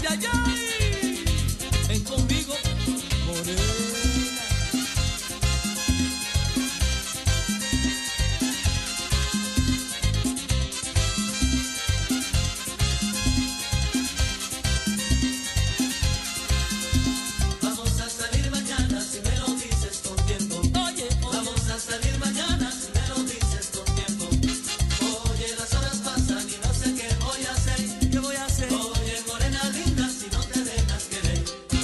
ay, ay. Ven conmigo, morena. Vamos a salir mañana si me lo dices con tiempo. Oye, Vamos a salir mañana si me lo dices con tiempo. Oye, las horas pasan y no sé qué voy a hacer. ¿qué voy a hacer? Oye, morena linda, si no te dejas querer.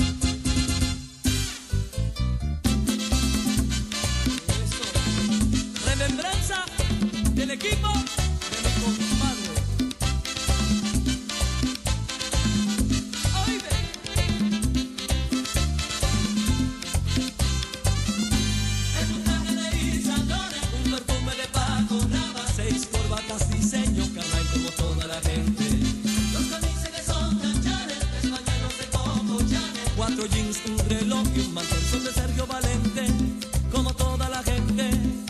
Eso. Remembranza del equipo de mi compadre. Oíste. Es un traje de Isadora, Un perfume de Paco Rabanne, 6 corbatas diseño Carray como toda la gente, los camisas que son canchares, 3 pañuelos de Coco Chanel. 4 jeans, un reloj y un mantel son de Sergio Valente como toda la gente.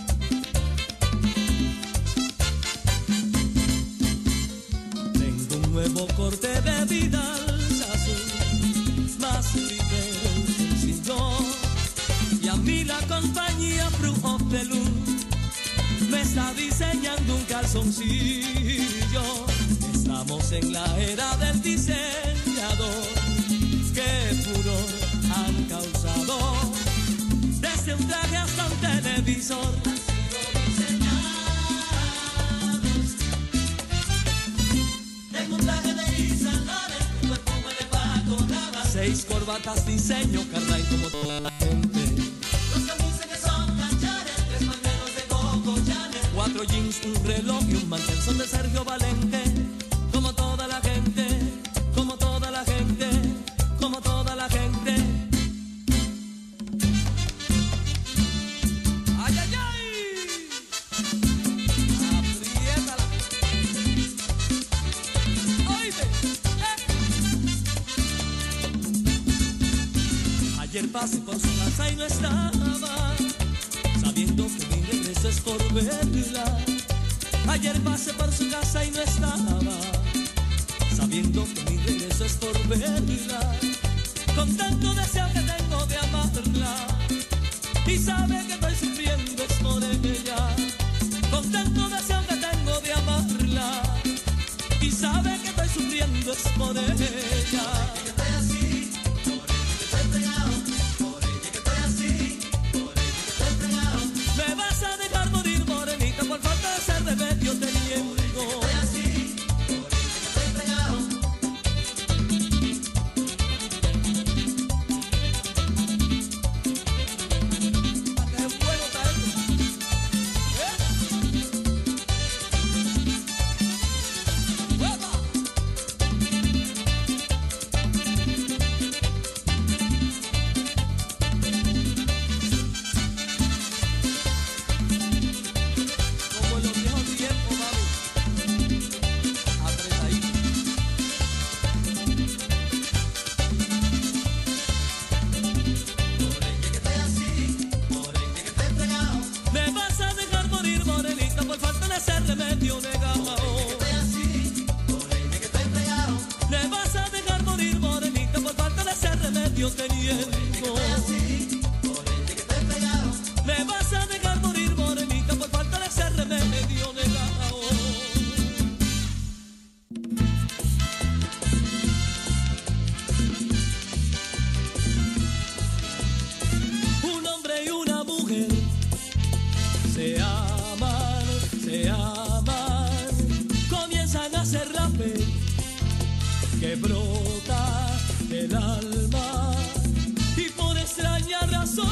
Tengo un nuevo corte de Vidal Sassoon, más ligero, sin yo. Y a mí la compañía Fruit of the Loom me está diseñando un calzoncillo. Estamos en la era del diseñador. Qué furor han causado. Desde un traje hasta un televisor. Tengo un traje de Isadora, un perfume de Paco Rabanne. 6 corbatas diseño Carray como toda la gente. Los camisas que son canchares, 3 pañuelos de Coco Chanel. 4 jeans, un reloj y un mantel son de Sergio Valente como toda la gente, como toda la gente, como toda la gente. ¡Ay, ay, ay! ¡Apriétala! ¡Oíste! Ayer pasé por su casa y no estaba, sabiendo que mi regreso es por verla. Ayer pasé por su casa y no estaba, sabiendo que mi regreso es por verla. Con tanto deseo que tengo de amarla, y sabe que estoy sufriendo es por ella. Con tanto deseo que tengo de amarla, y sabe que estoy sufriendo es por ella. Que estoy así, por ella que estoy pegado. Por ella que estoy así, por ella que estoy pegado. Me vas a dejar morir, morenita, por falta de ser remedio te niego. Estoy así, por ella que estoy pegado. ¡Qué bueno está esto! ¡Hueva! Como en los viejos tiempos, mami. Apretadito. Por ella que estoy así, por ella que estoy pegado. Me vas a dejar morir, morenita, por falta de ser remedio negado. Estoy así, por ella que estoy pegado. Me vas a dejar morir, morenita, por falta de ser remedio te niego. Estoy así, por ella que estoy pegado. Me vas a dejar morir, morenita, por falta de ser remedio negado. Un hombre y una mujer se aman, comienzan a hacer la fe que brota del alma, y por extraña razón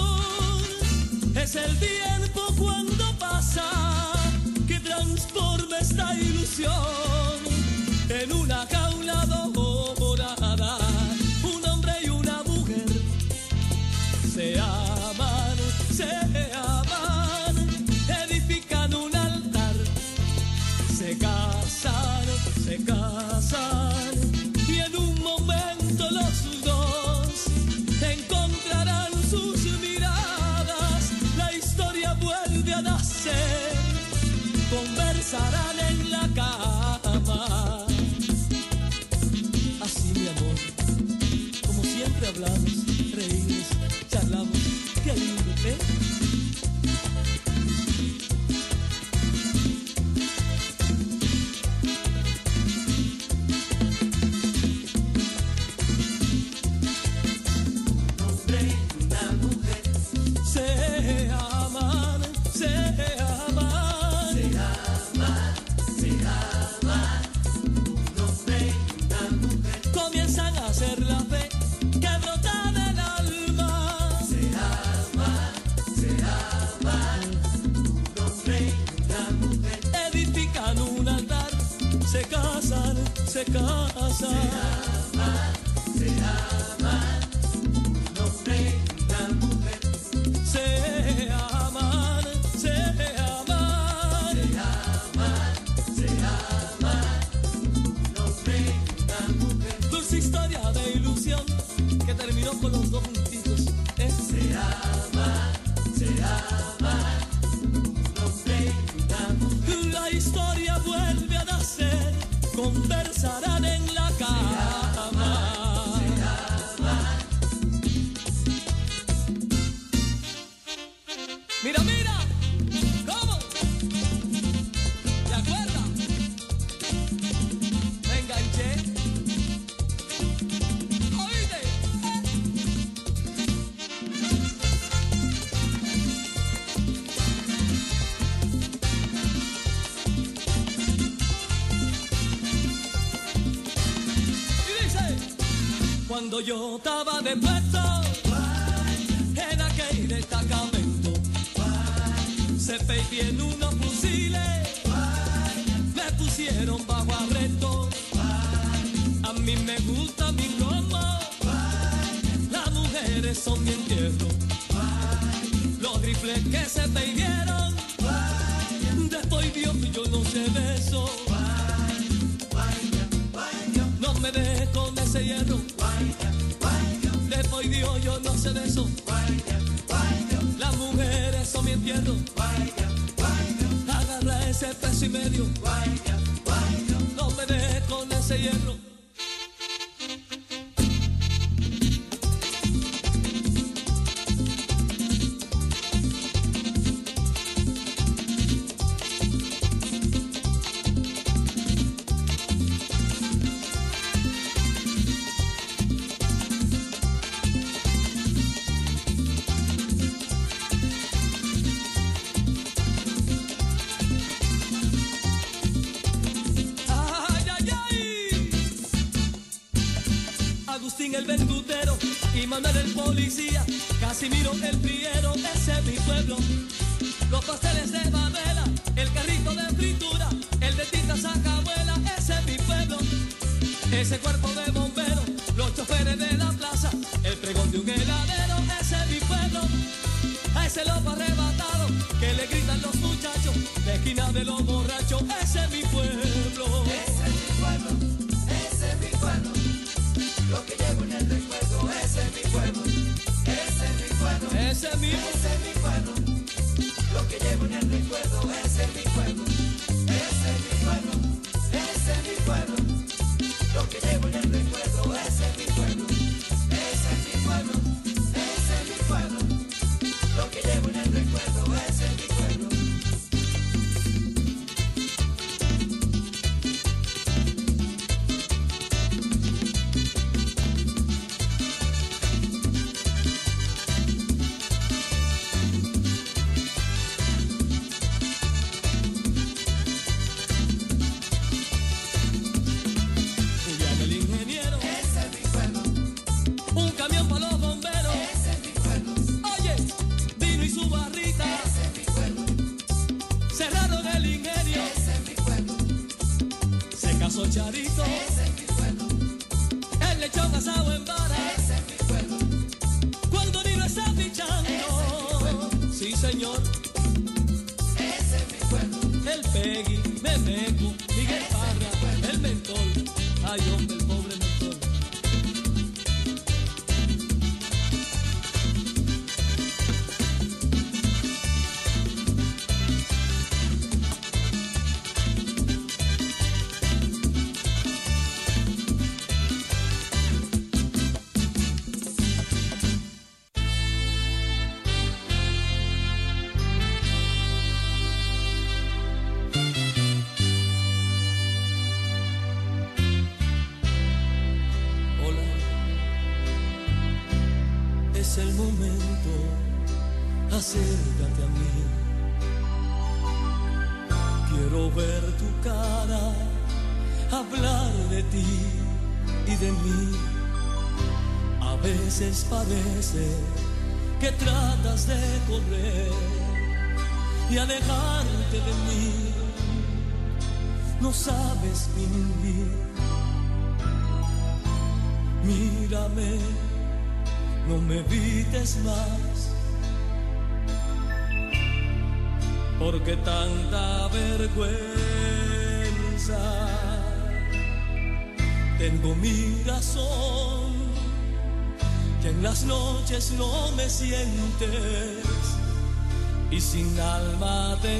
es el tiempo cuando pasa que transforma esta ilusión en una jaula dorada. Un hombre y una mujer se aman, edifican un altar, se casan, y en un momento los dos encontrarán sus miradas. La historia vuelve a nacer, conversarán en la cama. Así, mi amor, hablamos, reímos, charlamos, qué lindo, ¿eh? Se casan, se aman, un hombre y una mujer. Se aman, se aman, se aman, se aman, un hombre y una mujer. Dulce historia de ilusión que terminó con los dos juntitos. Se aman, un hombre y una mujer. La historia vuelve a nacer. Conversarán en la cama. Se aman. Mira, mira, ¿cómo? ¿Te acuerdas? Me enganché. ¿Oíste? Cuando yo estaba de puesto en aquel destacamento, se en unos fusiles, me pusieron bajo arresto. A mí me gusta mi romo, las mujeres son mi entierro. Los rifles que se peidieron, después Dios yo no sé de eso. No me dejes con ese hierro. Después Dios yo no sé de eso. Las mujeres son mi entierro. Agarra ese peso y medio. No me dejes con ese hierro. El verdutero y Manuel el policía, Casimiro el priero, ese es mi pueblo. Los pasteles de babela, el carrito de fritura, el de tinta sacabuela, ese es mi pueblo. Ese cuerpo de bomberos, los choferes de la plaza, el pregón de un heladero, ese es mi pueblo. A ese lobo arrebatado que le gritan los muchachos, la esquina de los borrachos, ese es mi pueblo. Ese es mi pueblo, ese es mi pueblo. Lo que llevo en el recuerdo, ese es mi pueblo, ese es mi pueblo, ese es mi pueblo. Lo que llevo en el recuerdo, ese es mi pueblo, ese es mi pueblo, ese es mi pueblo. Lo que llevo en el recuerdo, ese es mi pueblo, ese es mi pueblo, ese es mi pueblo. Lo que llevo en el recuerdo, ese es mi pueblo. Charito, ese es mi pueblo. El lechón asado en vara, ese es mi pueblo. Cuando Nino está fichando, sí señor, ese es mi pueblo. El Peggy, Memeco, Miguel Parra, el Mentol, ay hombre, el pobre Mentol. es el momento, acércate a mí. Quiero ver tu cara, hablar de ti y de mí. A veces parece que tratas de correr y alejarte de mí. No sabes vivir. Mírame, no me evites más, porque tanta vergüenza. Tengo mi razón, que en las noches no me sientes y sin alma te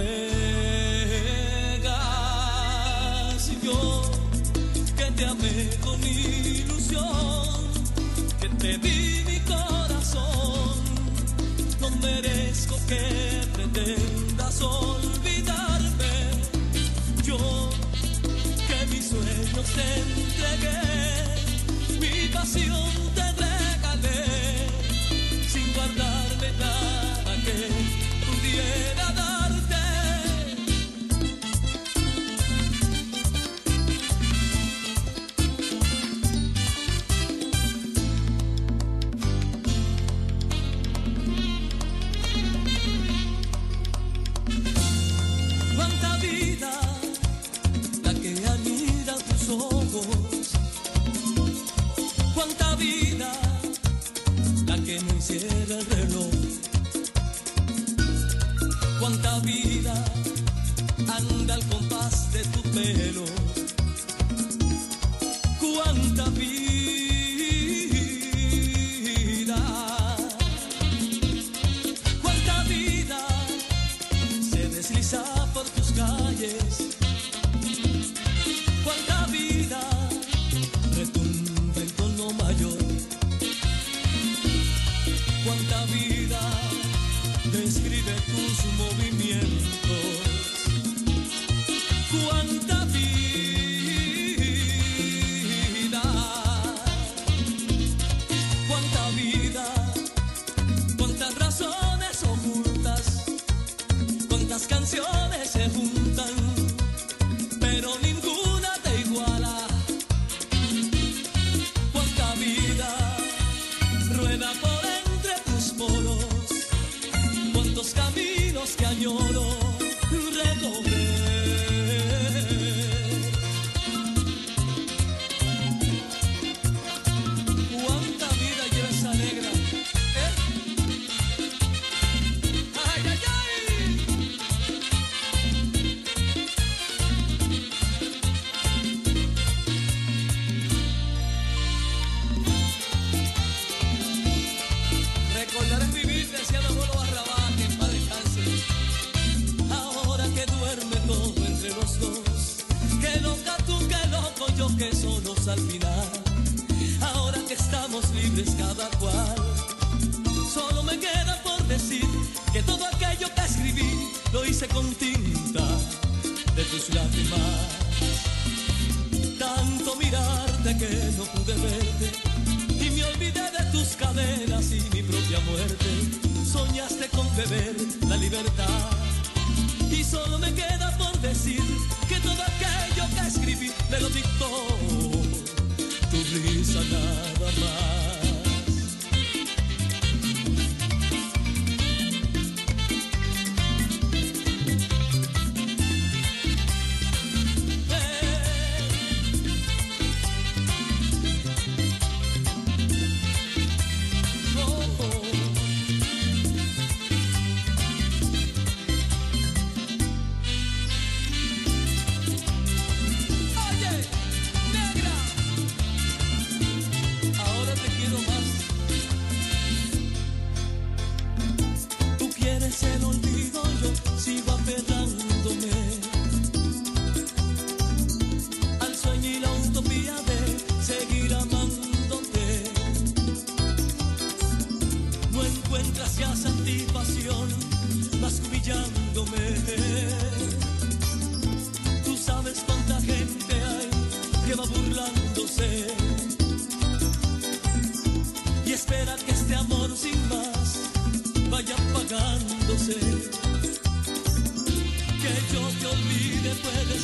entregas. Yo que te amé con ilusión, que te di mi corazón, no merezco que pretendas olvidarme. Yo que mis sueños te entregué, mi pasión te regalé, sin guardarme nada que pudiera darte. Cuánta vida la que anida tus ojos, cuánta vida la que no encierra el reloj, cuánta vida anda al compás de tu pelo, cuánta vida, cuánta vida se desliza por tus calles, cuánta vida retumba en tono mayor, cuánta vida describe tus movimientos, cuánta vida, cuánta vida, cuántas razones ocultas, cuántas canciones se juntan, pero ninguna te iguala. Cuánta vida rueda por entre tus poros, cuántos caminos que añoro recorrer. Cuánta vida lleva esa negra, ay, ay, ay. Recordar es vivir, decía mi abuelo Barrabás, que en paz descanse. Ahora que duerme todo entre los dos, que loca tú, que loco yo, que solos al final. Ahora que estamos libres cada cual, solo me queda por decir que todo aquello que escribí lo hice con tinta de tus lágrimas. Tanto mirarte que no pude verte y me olvidé de tus cadenas y mi propia muerte. Soñaste con beber la libertad y solo me queda por decir que todo aquello que escribí me lo dictó tu risa nada más. Oye, negra, ahora te quiero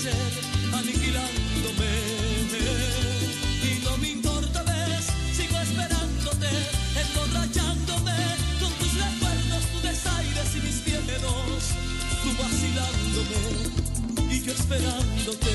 ser aniquilándome. Y no me importa, ves, sigo esperándote, emborrachándome con tus recuerdos, tus desaires y mis miedos, tú vacilándome y yo esperándote.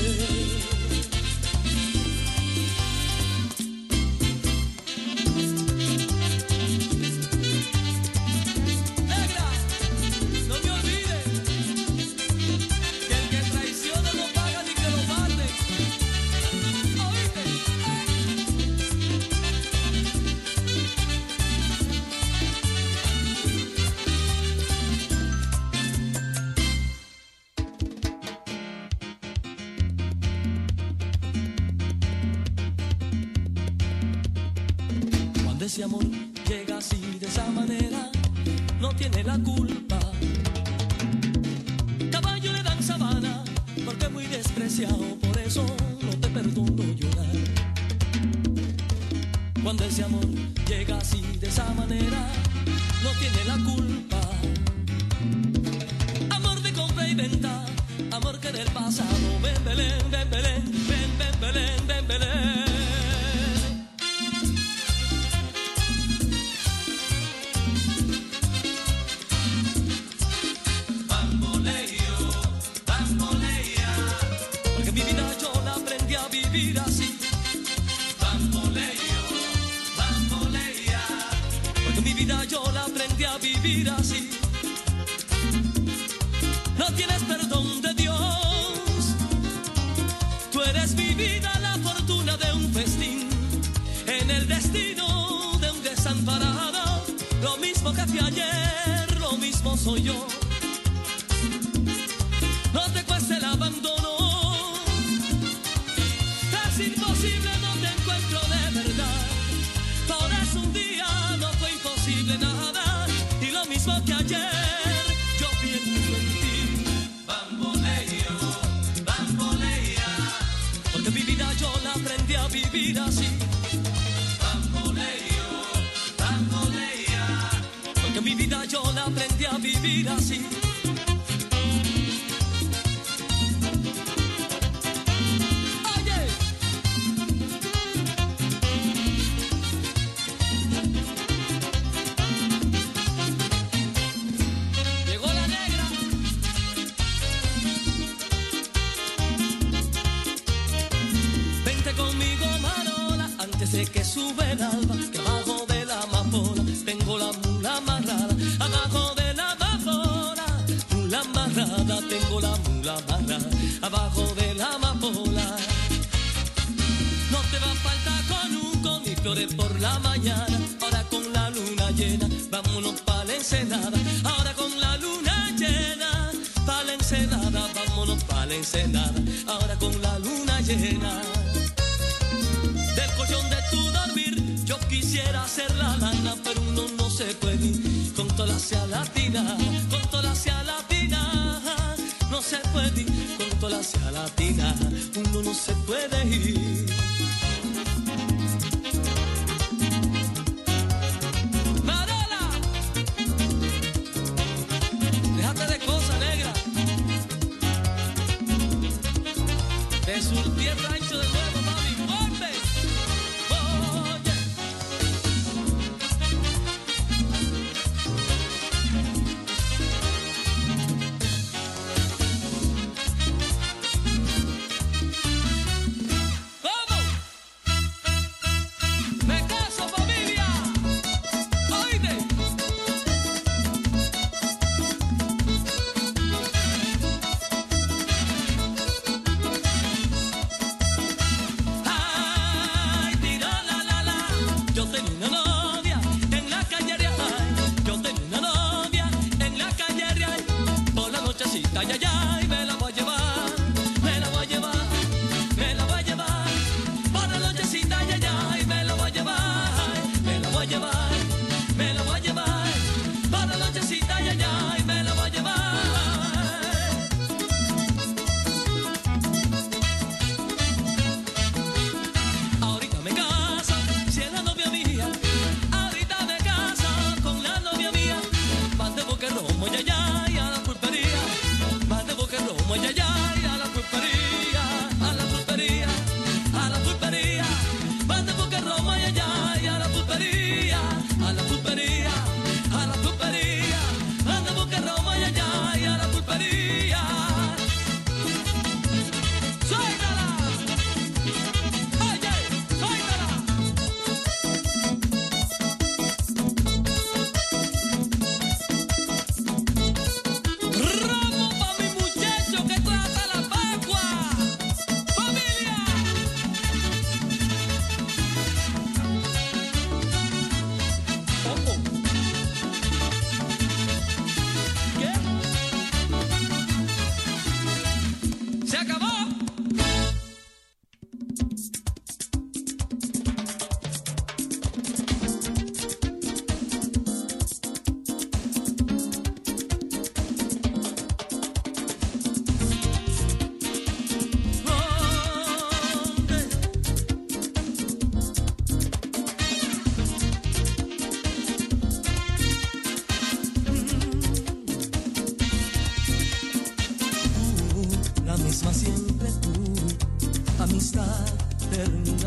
Ese amor llega así de esa manera, no tiene la culpa. Caballo le dan sabana, porque es muy despreciado, por eso no te perdono llorar. Cuando ese amor llega así de esa manera, no tiene la culpa. Amor de compra y venta, amor que del pasado, ven Belén, ven Belén, ven, ven Belén, ven Belén. Vivir así, bamboleo, bambolea, porque mi vida yo la aprendí a vivir así. No tienes perdón de Dios, tú eres mi vida, la fortuna de un festín, en el destino de un desamparado, lo mismo que fui ayer, lo mismo soy yo. No te cueste el abandono, imposible, no te encuentro de verdad. Por eso un día no fue imposible nada, y lo mismo que ayer yo pienso en ti. Bamboleo, bambolea, porque mi vida yo la aprendí a vivir así. Bamboleo, bambolea, porque mi vida yo la aprendí a vivir así. De que sube el alba, que abajo de la amapola tengo la mula amarrada, abajo de la amapola, mula amarrada, tengo la mula amarrada, abajo de la amapola. No te va a faltar conuco ni flores por la mañana, ahora con la luna llena, vámonos pa' la ensenada, ahora con la luna llena, pa' la ensenada, vámonos pa' la ensenada, ahora con la luna llena. Del colchón de tu dormir, yo quisiera hacer la lana, pero uno no se puede ir con toda la sea latina, con toda la sea latina, no se puede ir con toda la sea latina, uno no se puede ir. Marola, déjate de cosas, negra, de surtir el rancho de nuevo, mami, ¡vuelve!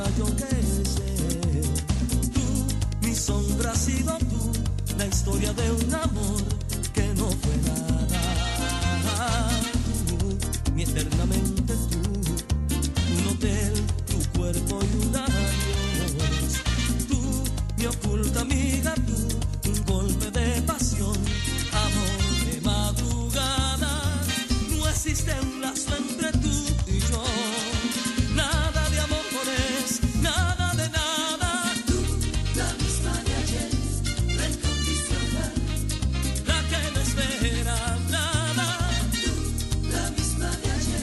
yo que sé. Tú, mi sombra, has sido tú, la historia de un amor que no fue nada. Tú, mi eternamente tú, un hotel, tu cuerpo y un adiós. Tú, mi oculta amiga, tú, un golpe de pasión, amor de madrugada. No existe un lazo entre tú y yo, nada de amores, nada de nada. Tú, la misma de ayer, la incondicional. La que no espera nada. Tú, la misma de ayer.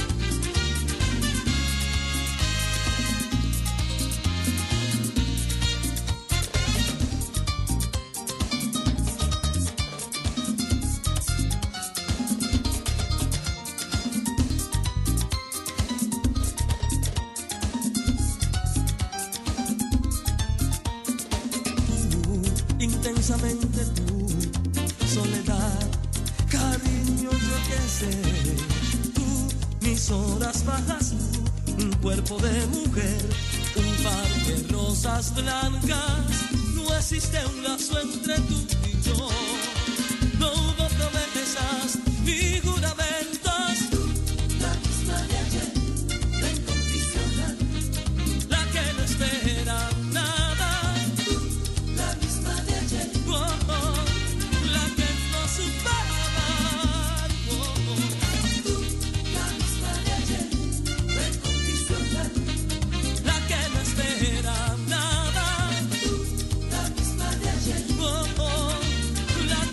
Intensamente tú, soledad, cariño, yo que sé. Tú, mis horas bajas, tú, un cuerpo de mujer, un par de rosas blancas. No existe un lazo entre tú y yo. No hubo promesas ni juramentos. Tú, la misma de ayer, la incondicional. La que no espera nada. Tú, la misma de ayer. Oh, oh, la que no supera amar. Oh, oh. Tú, la misma de ayer, la incondicional. La que no espera nada. Tú, la misma de ayer. Oh, oh, la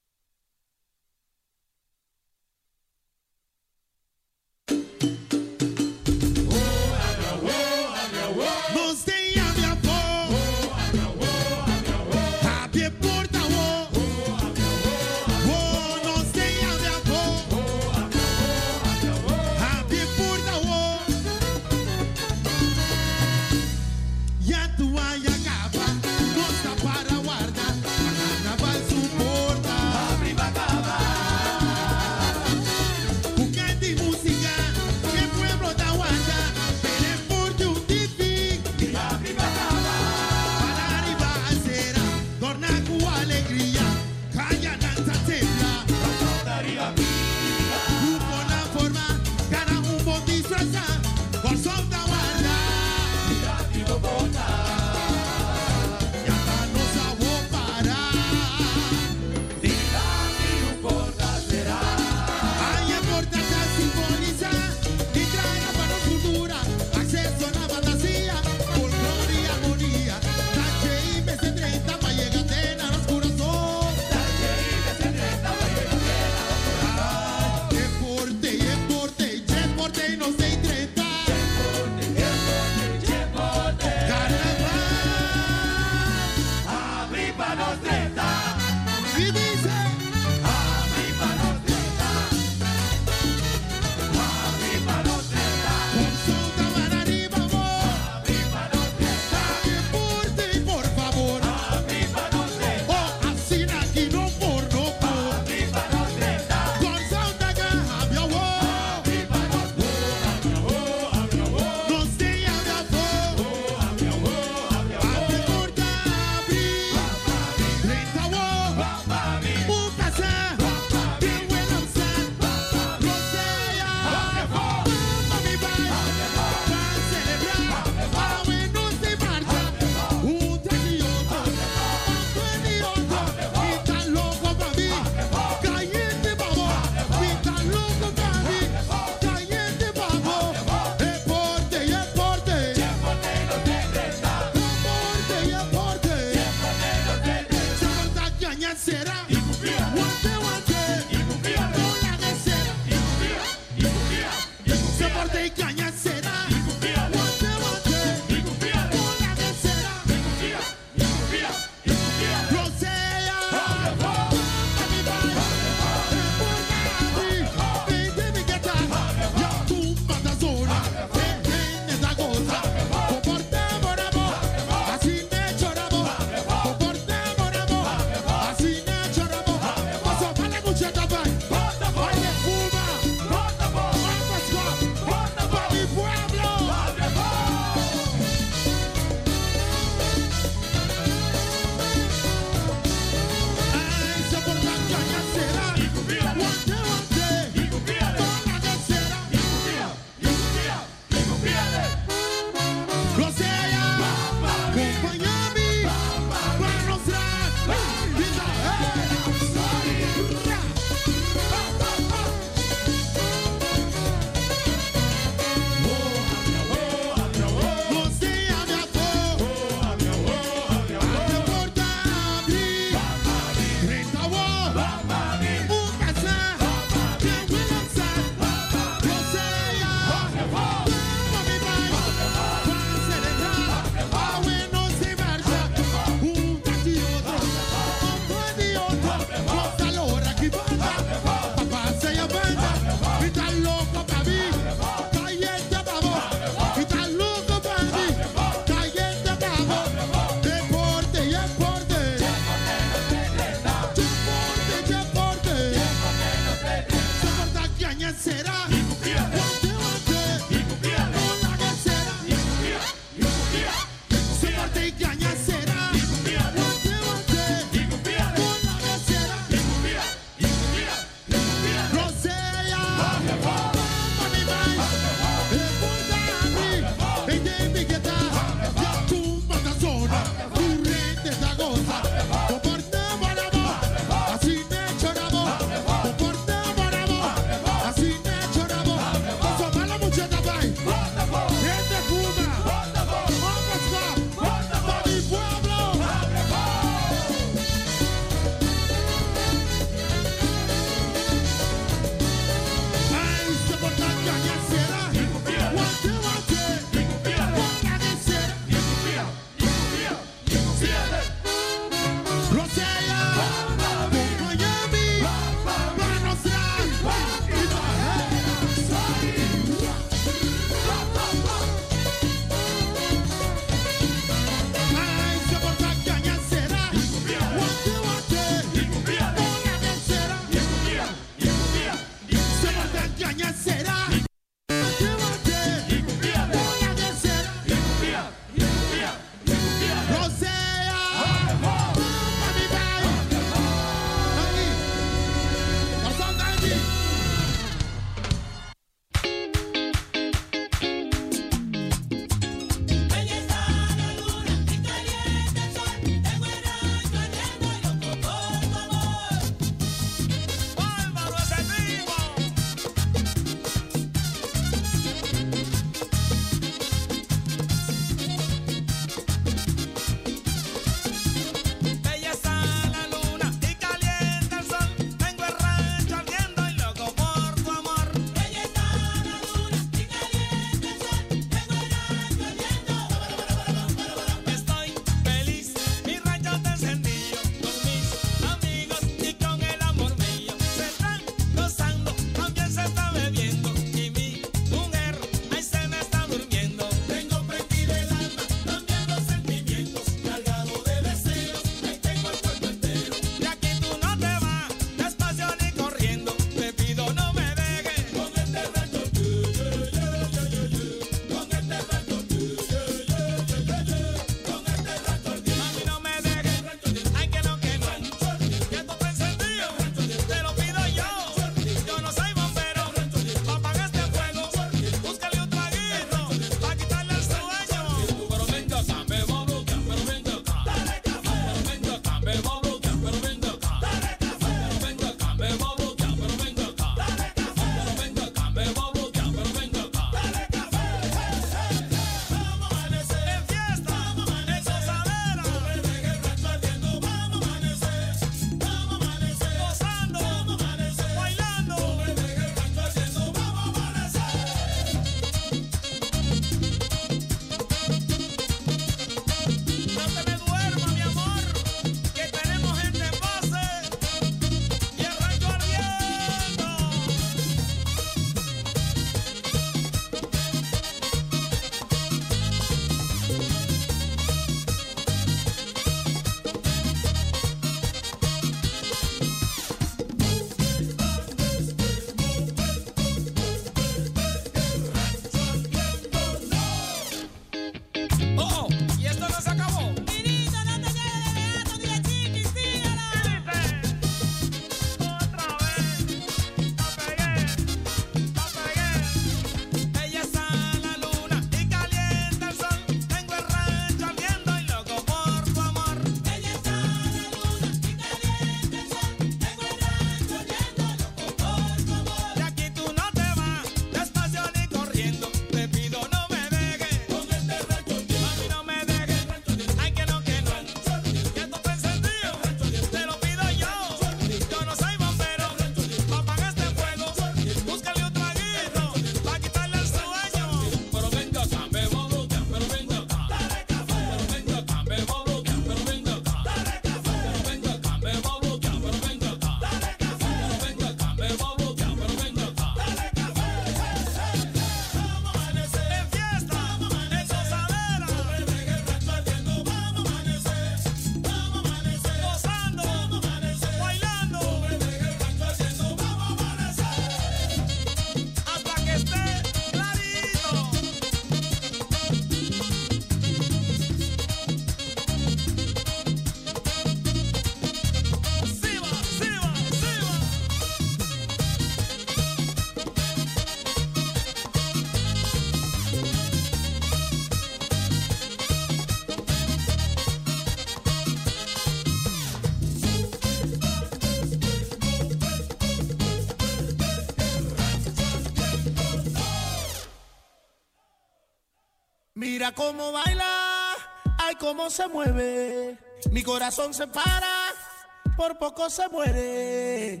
Mira cómo baila, ay cómo se mueve. Mi corazón se para, por poco se muere.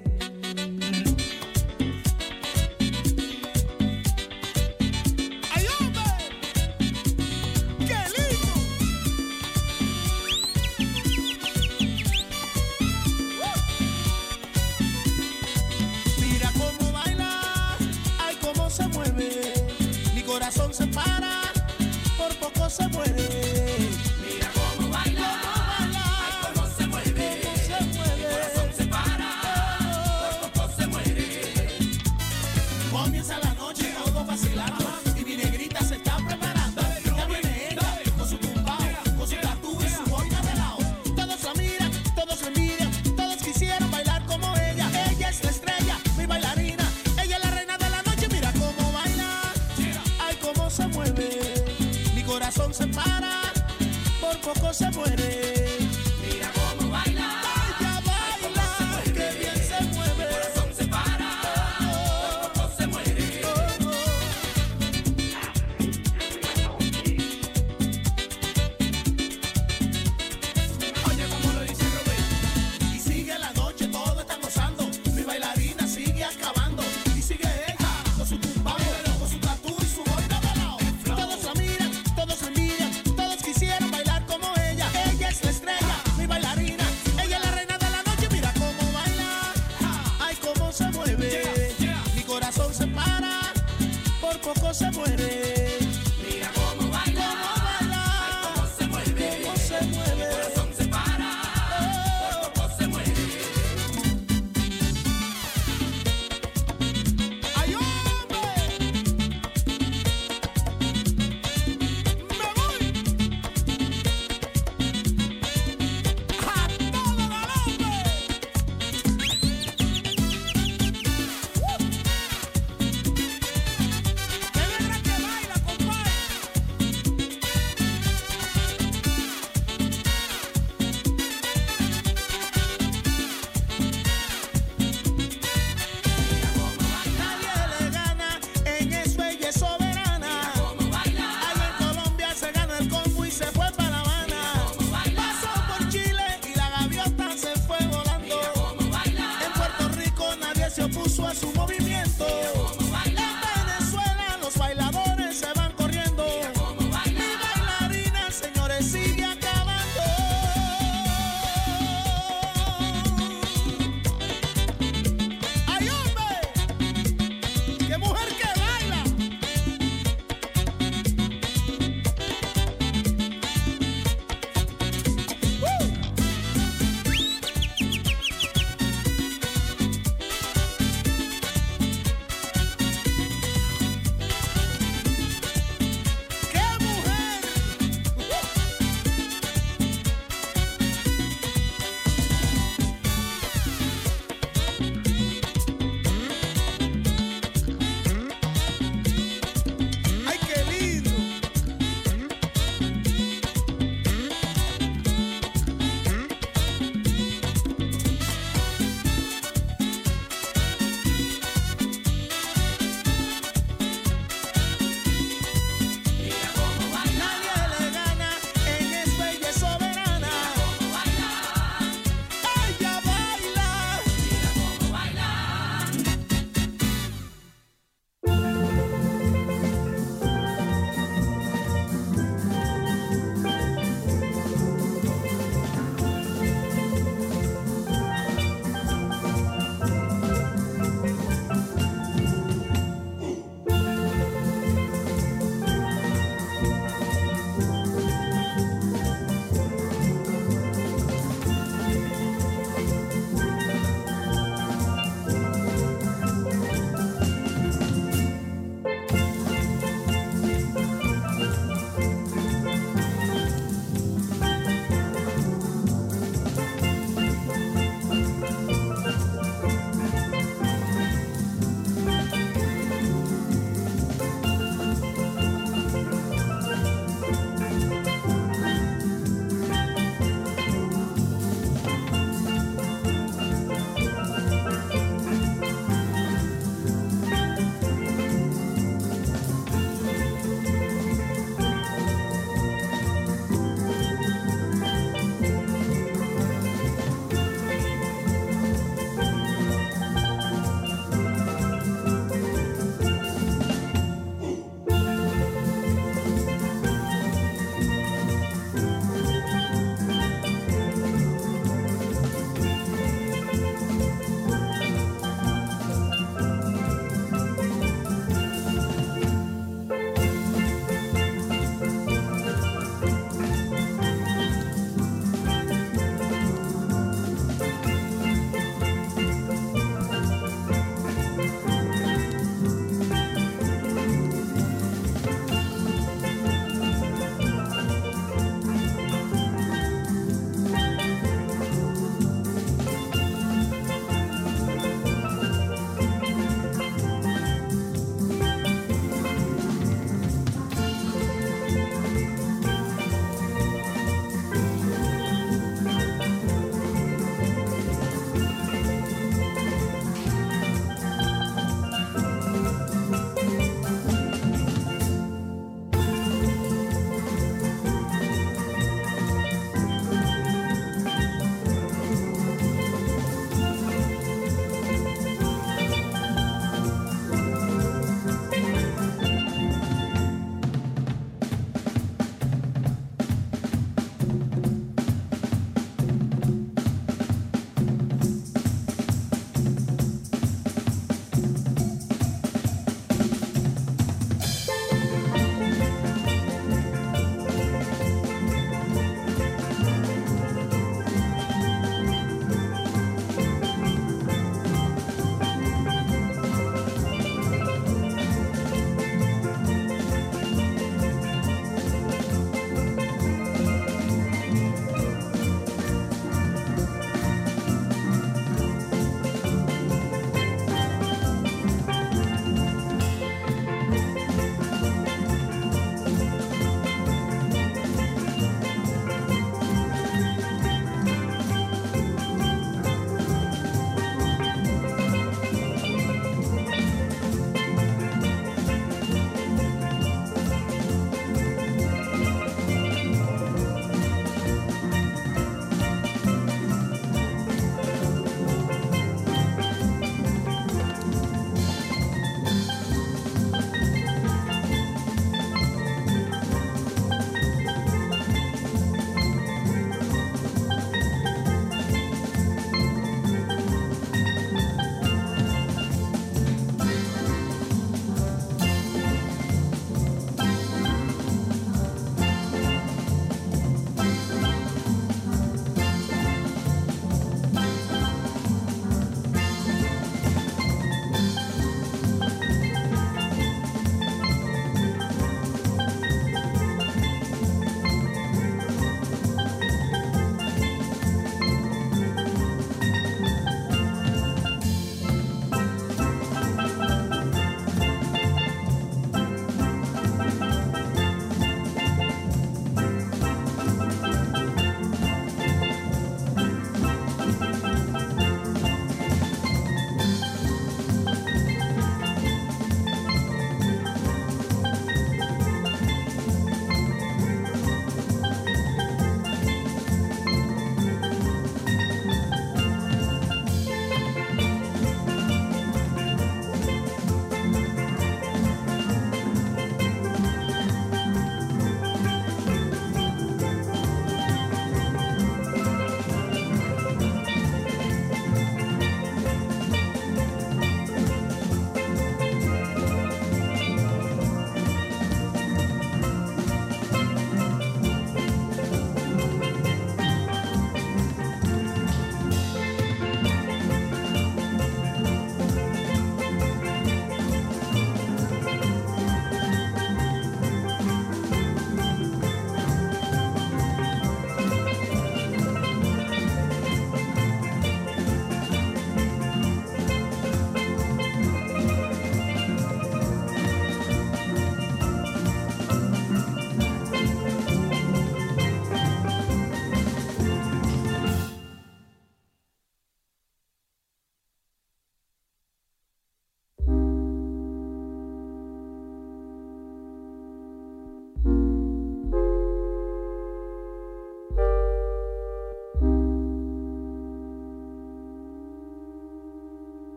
¡Ay, hombre! ¡Qué lindo! Mira cómo baila, ay cómo se mueve. Mi corazón se para, por poco se muere. Mira cómo baila, ay cómo se mueve, mi corazón se para, por poco se muere. Comienza la noche, todos vacilando, y mi negrita se está preparando. Ya viene ella, con su tumbao, con su tatú y su boina de lado. Todos la miran, todos la envidian, todos quisieran bailar como ella. Ella es la estrella, mi bailarina, ella es la reina de la noche. Mira cómo baila, ay cómo se mueve. Mi corazón se para, por poco se muere. Mira cómo baila, Ella baila, que bien se mueve. mi corazón se para, por poco se muere. Oye, como lo dice Rubén. Y sigue la noche, todos están gozando. Mi bailarina sigue acabando. Y sigue ella, con su tumbao, con su tatú y su boina de lado. Todos la miran, todos la envidian, todos quisieran bailar como ella. Ella es la estrella, mi bailarina, ella es la reina de la noche. Mira cómo baila, ay cómo se mueve. Mi corazón se para, por poco se muere. Mira cómo baila, ay cómo se mueve, Cómo se mueve. mi corazón se para, por poco se muere. ¡Ay, hombre! ¡Me voy! ¡A todo galope! ¡Qué negra que baila, compadre! Nadie le gana, en eso ella es soberana. Cómo baila, Allá en Colombia se gana el combo y se fue para La Habana. cómo baila, Pasó por Chile y la gaviota se fue volando. cómo baila, En Puerto Rico nadie se opuso a su movimiento. cómo baila, En Venezuela los bailadores se van corriendo. cómo Mi baila. bailarina, señores, sigue acabando. ¡Ay, hombre! ¡Qué mujer que baila!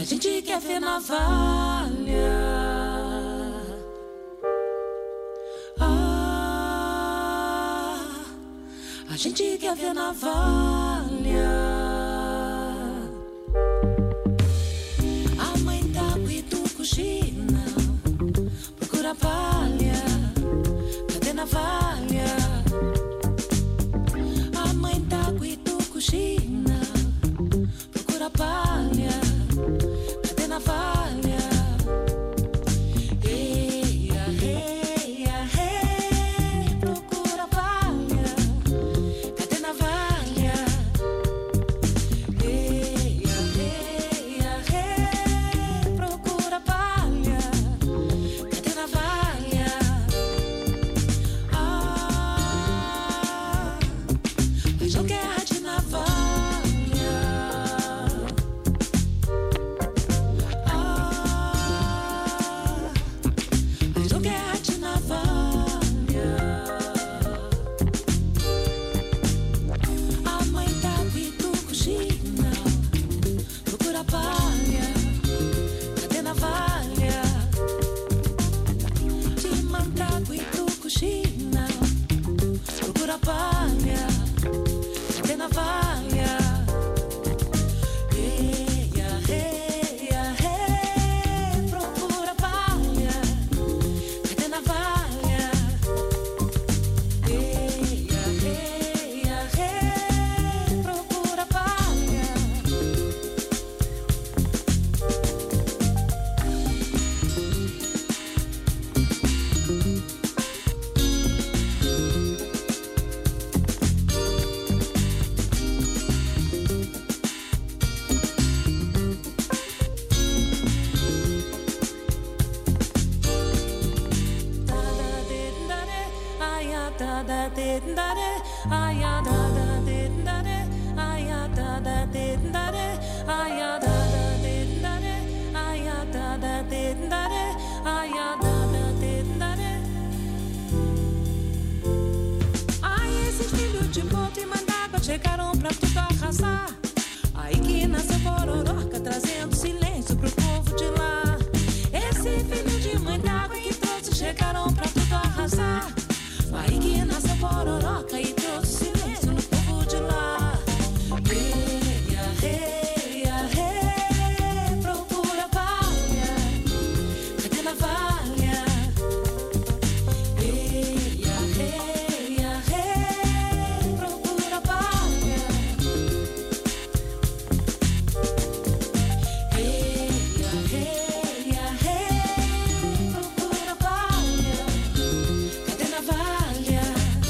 A gente quer ver navalha. A gente quer ver navalha. A mãe tá com cochina, procura palha, cadê navalha? A mãe tá com cochina, procura palha, cadê navalha? Eia, eia, eia, procura palha, cadê navalha? Eia, eia, eia, procura palha, cadê navalha? Mas não guerra de navalha. Ai, esses filhos de boto e mandágua chegaram pra tudo arrasar. Aí que nasceu Pororoca, trazendo silêncio pro povo de lá. Esse filho de mãe d'água que trouxe chegaram pra tudo arrasar. Aí que nasceu Pororoca e trouxe silêncio no povo de lá. Eia, eia, eia, procura palha, cadê navalha? Eia, eia, eia, procura palha. Eia, eia, eia, procura palha, cadê navalha?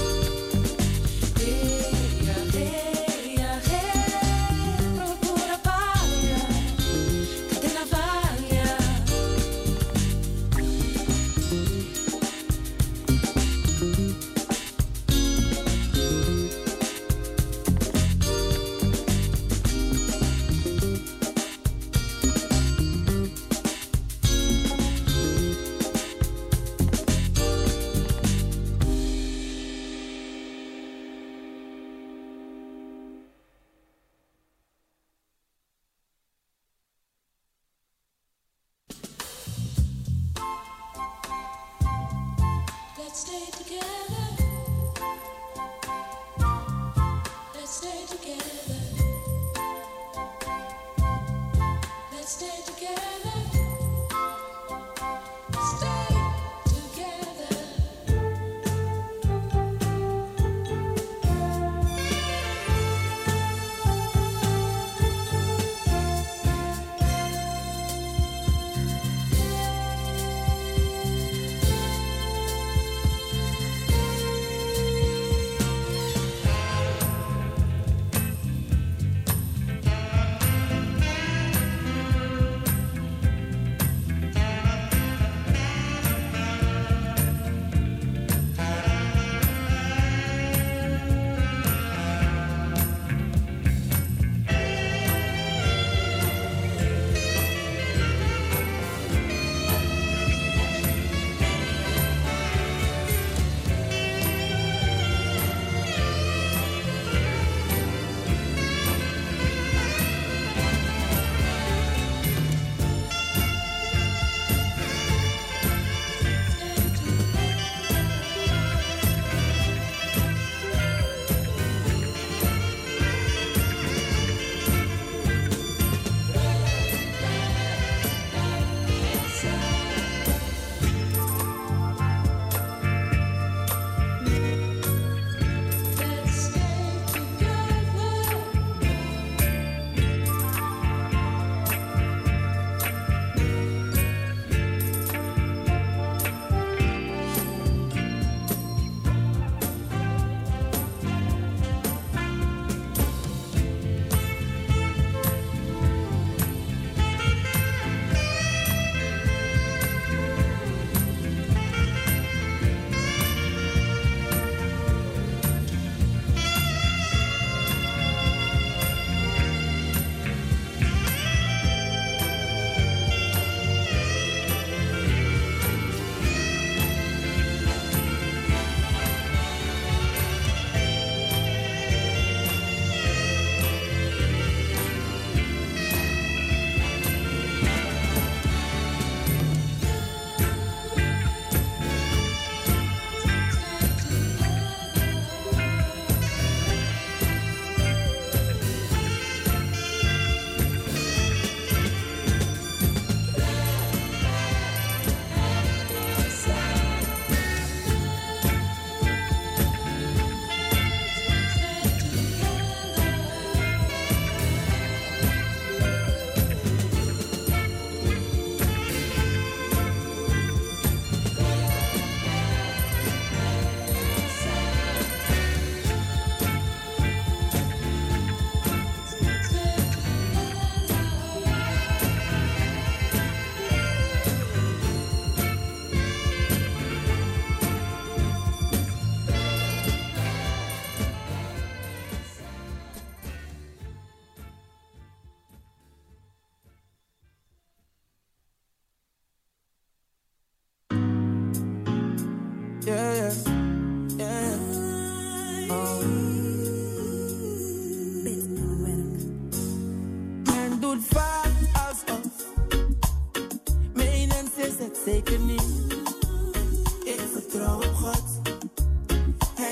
Eia, eia, eia, procura palha, cadê navalha? Let's stay together. Let's stay together. Let's stay together. Stay together.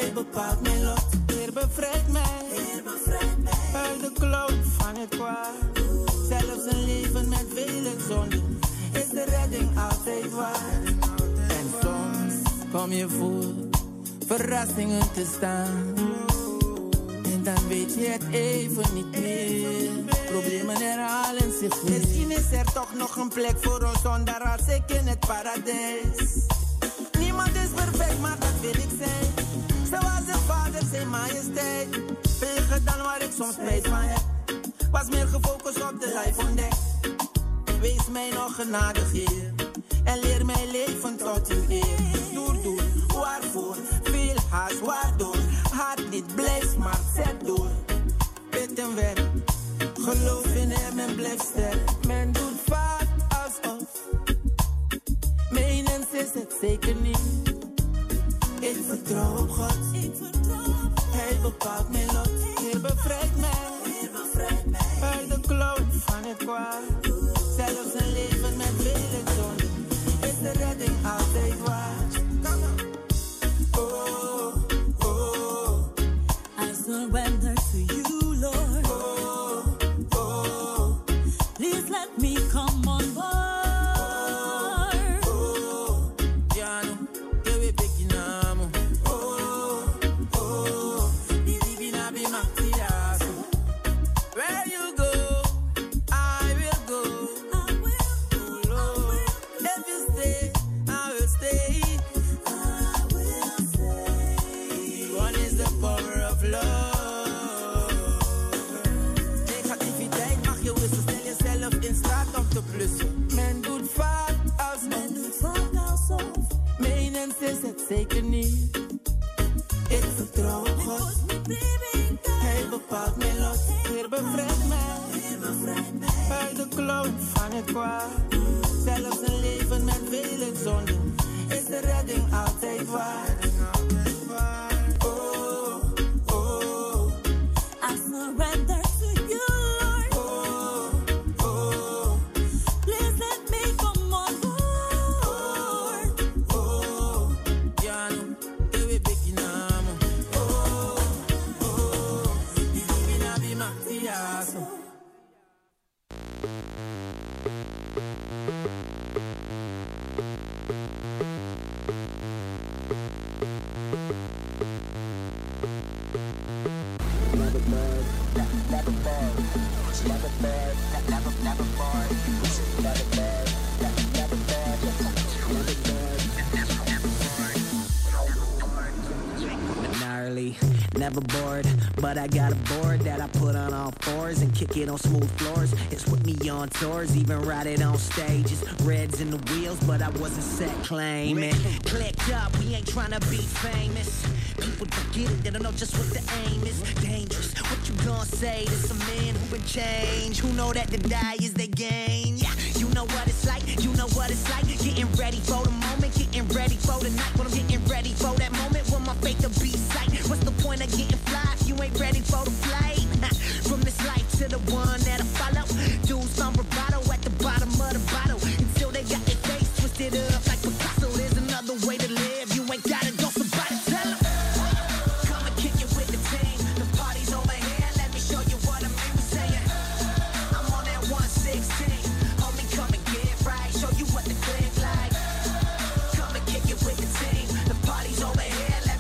Hij bepaalt mijn lot. Heer bevrijdt mij. Uit de klauw van het kwaad. Zelfs een leven met vele zonden is de redding altijd waar. En soms kom je voor verrassingen te staan. En dan weet je het even niet meer. Problemen herhalen zich weer. Misschien is er toch nog een plek voor ons zonder als ik in het paradijs. Niemand is perfect, maar dat wil ik zijn. Zoals de vader, zijn majesteit. Veiliger dan waar ik soms spijt van heb. Was meer gefocust op de life ontdekt. Wees mij nog genadig, Heer. En leer mij leven tot uw eer. Doe, waarvoor? Veel haast, waardoor? Hart niet, blijf maar, zet door. Bid en werk. Geloof in hem en blijf sterk. Men doet vaak alsof. Menens is het zeker niet. Ik vertrouw op God. Hij bepaalt mijn lot. Heer bevrijdt mij. Uit de klauw van het kwaad. Zelfs een leven met vele zonden is de redding altijd waar. Oh, oh. I surrender to you, Lord. Oh, oh. Please let me come on board. Oh, Jano, que we beginamo. Oh, oh. Di divina bi matiaso. Where you go, I will go. Oh Lord, if you stay, I will stay. One is the power of love. Negativiteit mag je wisselen, stel jezelf in staat om te plussen. Men doet vaak alsof. Menens is het zeker niet. Ik vertrouw op God. Hij bepaalt mijn lot. Heer bevrijdt mij. Uit de klauw van het kwaad. Zelfs een leven met vele zonden is de redding altijd waar. Oh, oh. I surrender to you, Lord. Oh, oh. Please let me come on board. Oh, Jano, que we beginamo. Oh, oh. Di divina bi matiaso. Gnarly, never bored, but I got a board that I put on all fours and kick it on smooth floors. It's with me on tours, even ride it on stages. Reds in the wheels, but I wasn't set claiming. Clicked up, we ain't tryna be famous. People don't get it, they don't know just what the aim is. Dangerous, what you gonna say to some men who been changed? Who know that to die is their gain? Yeah, you know what it's like, you know what it's like. Getting ready for the moment, getting ready for the night. When I'm getting ready for that moment,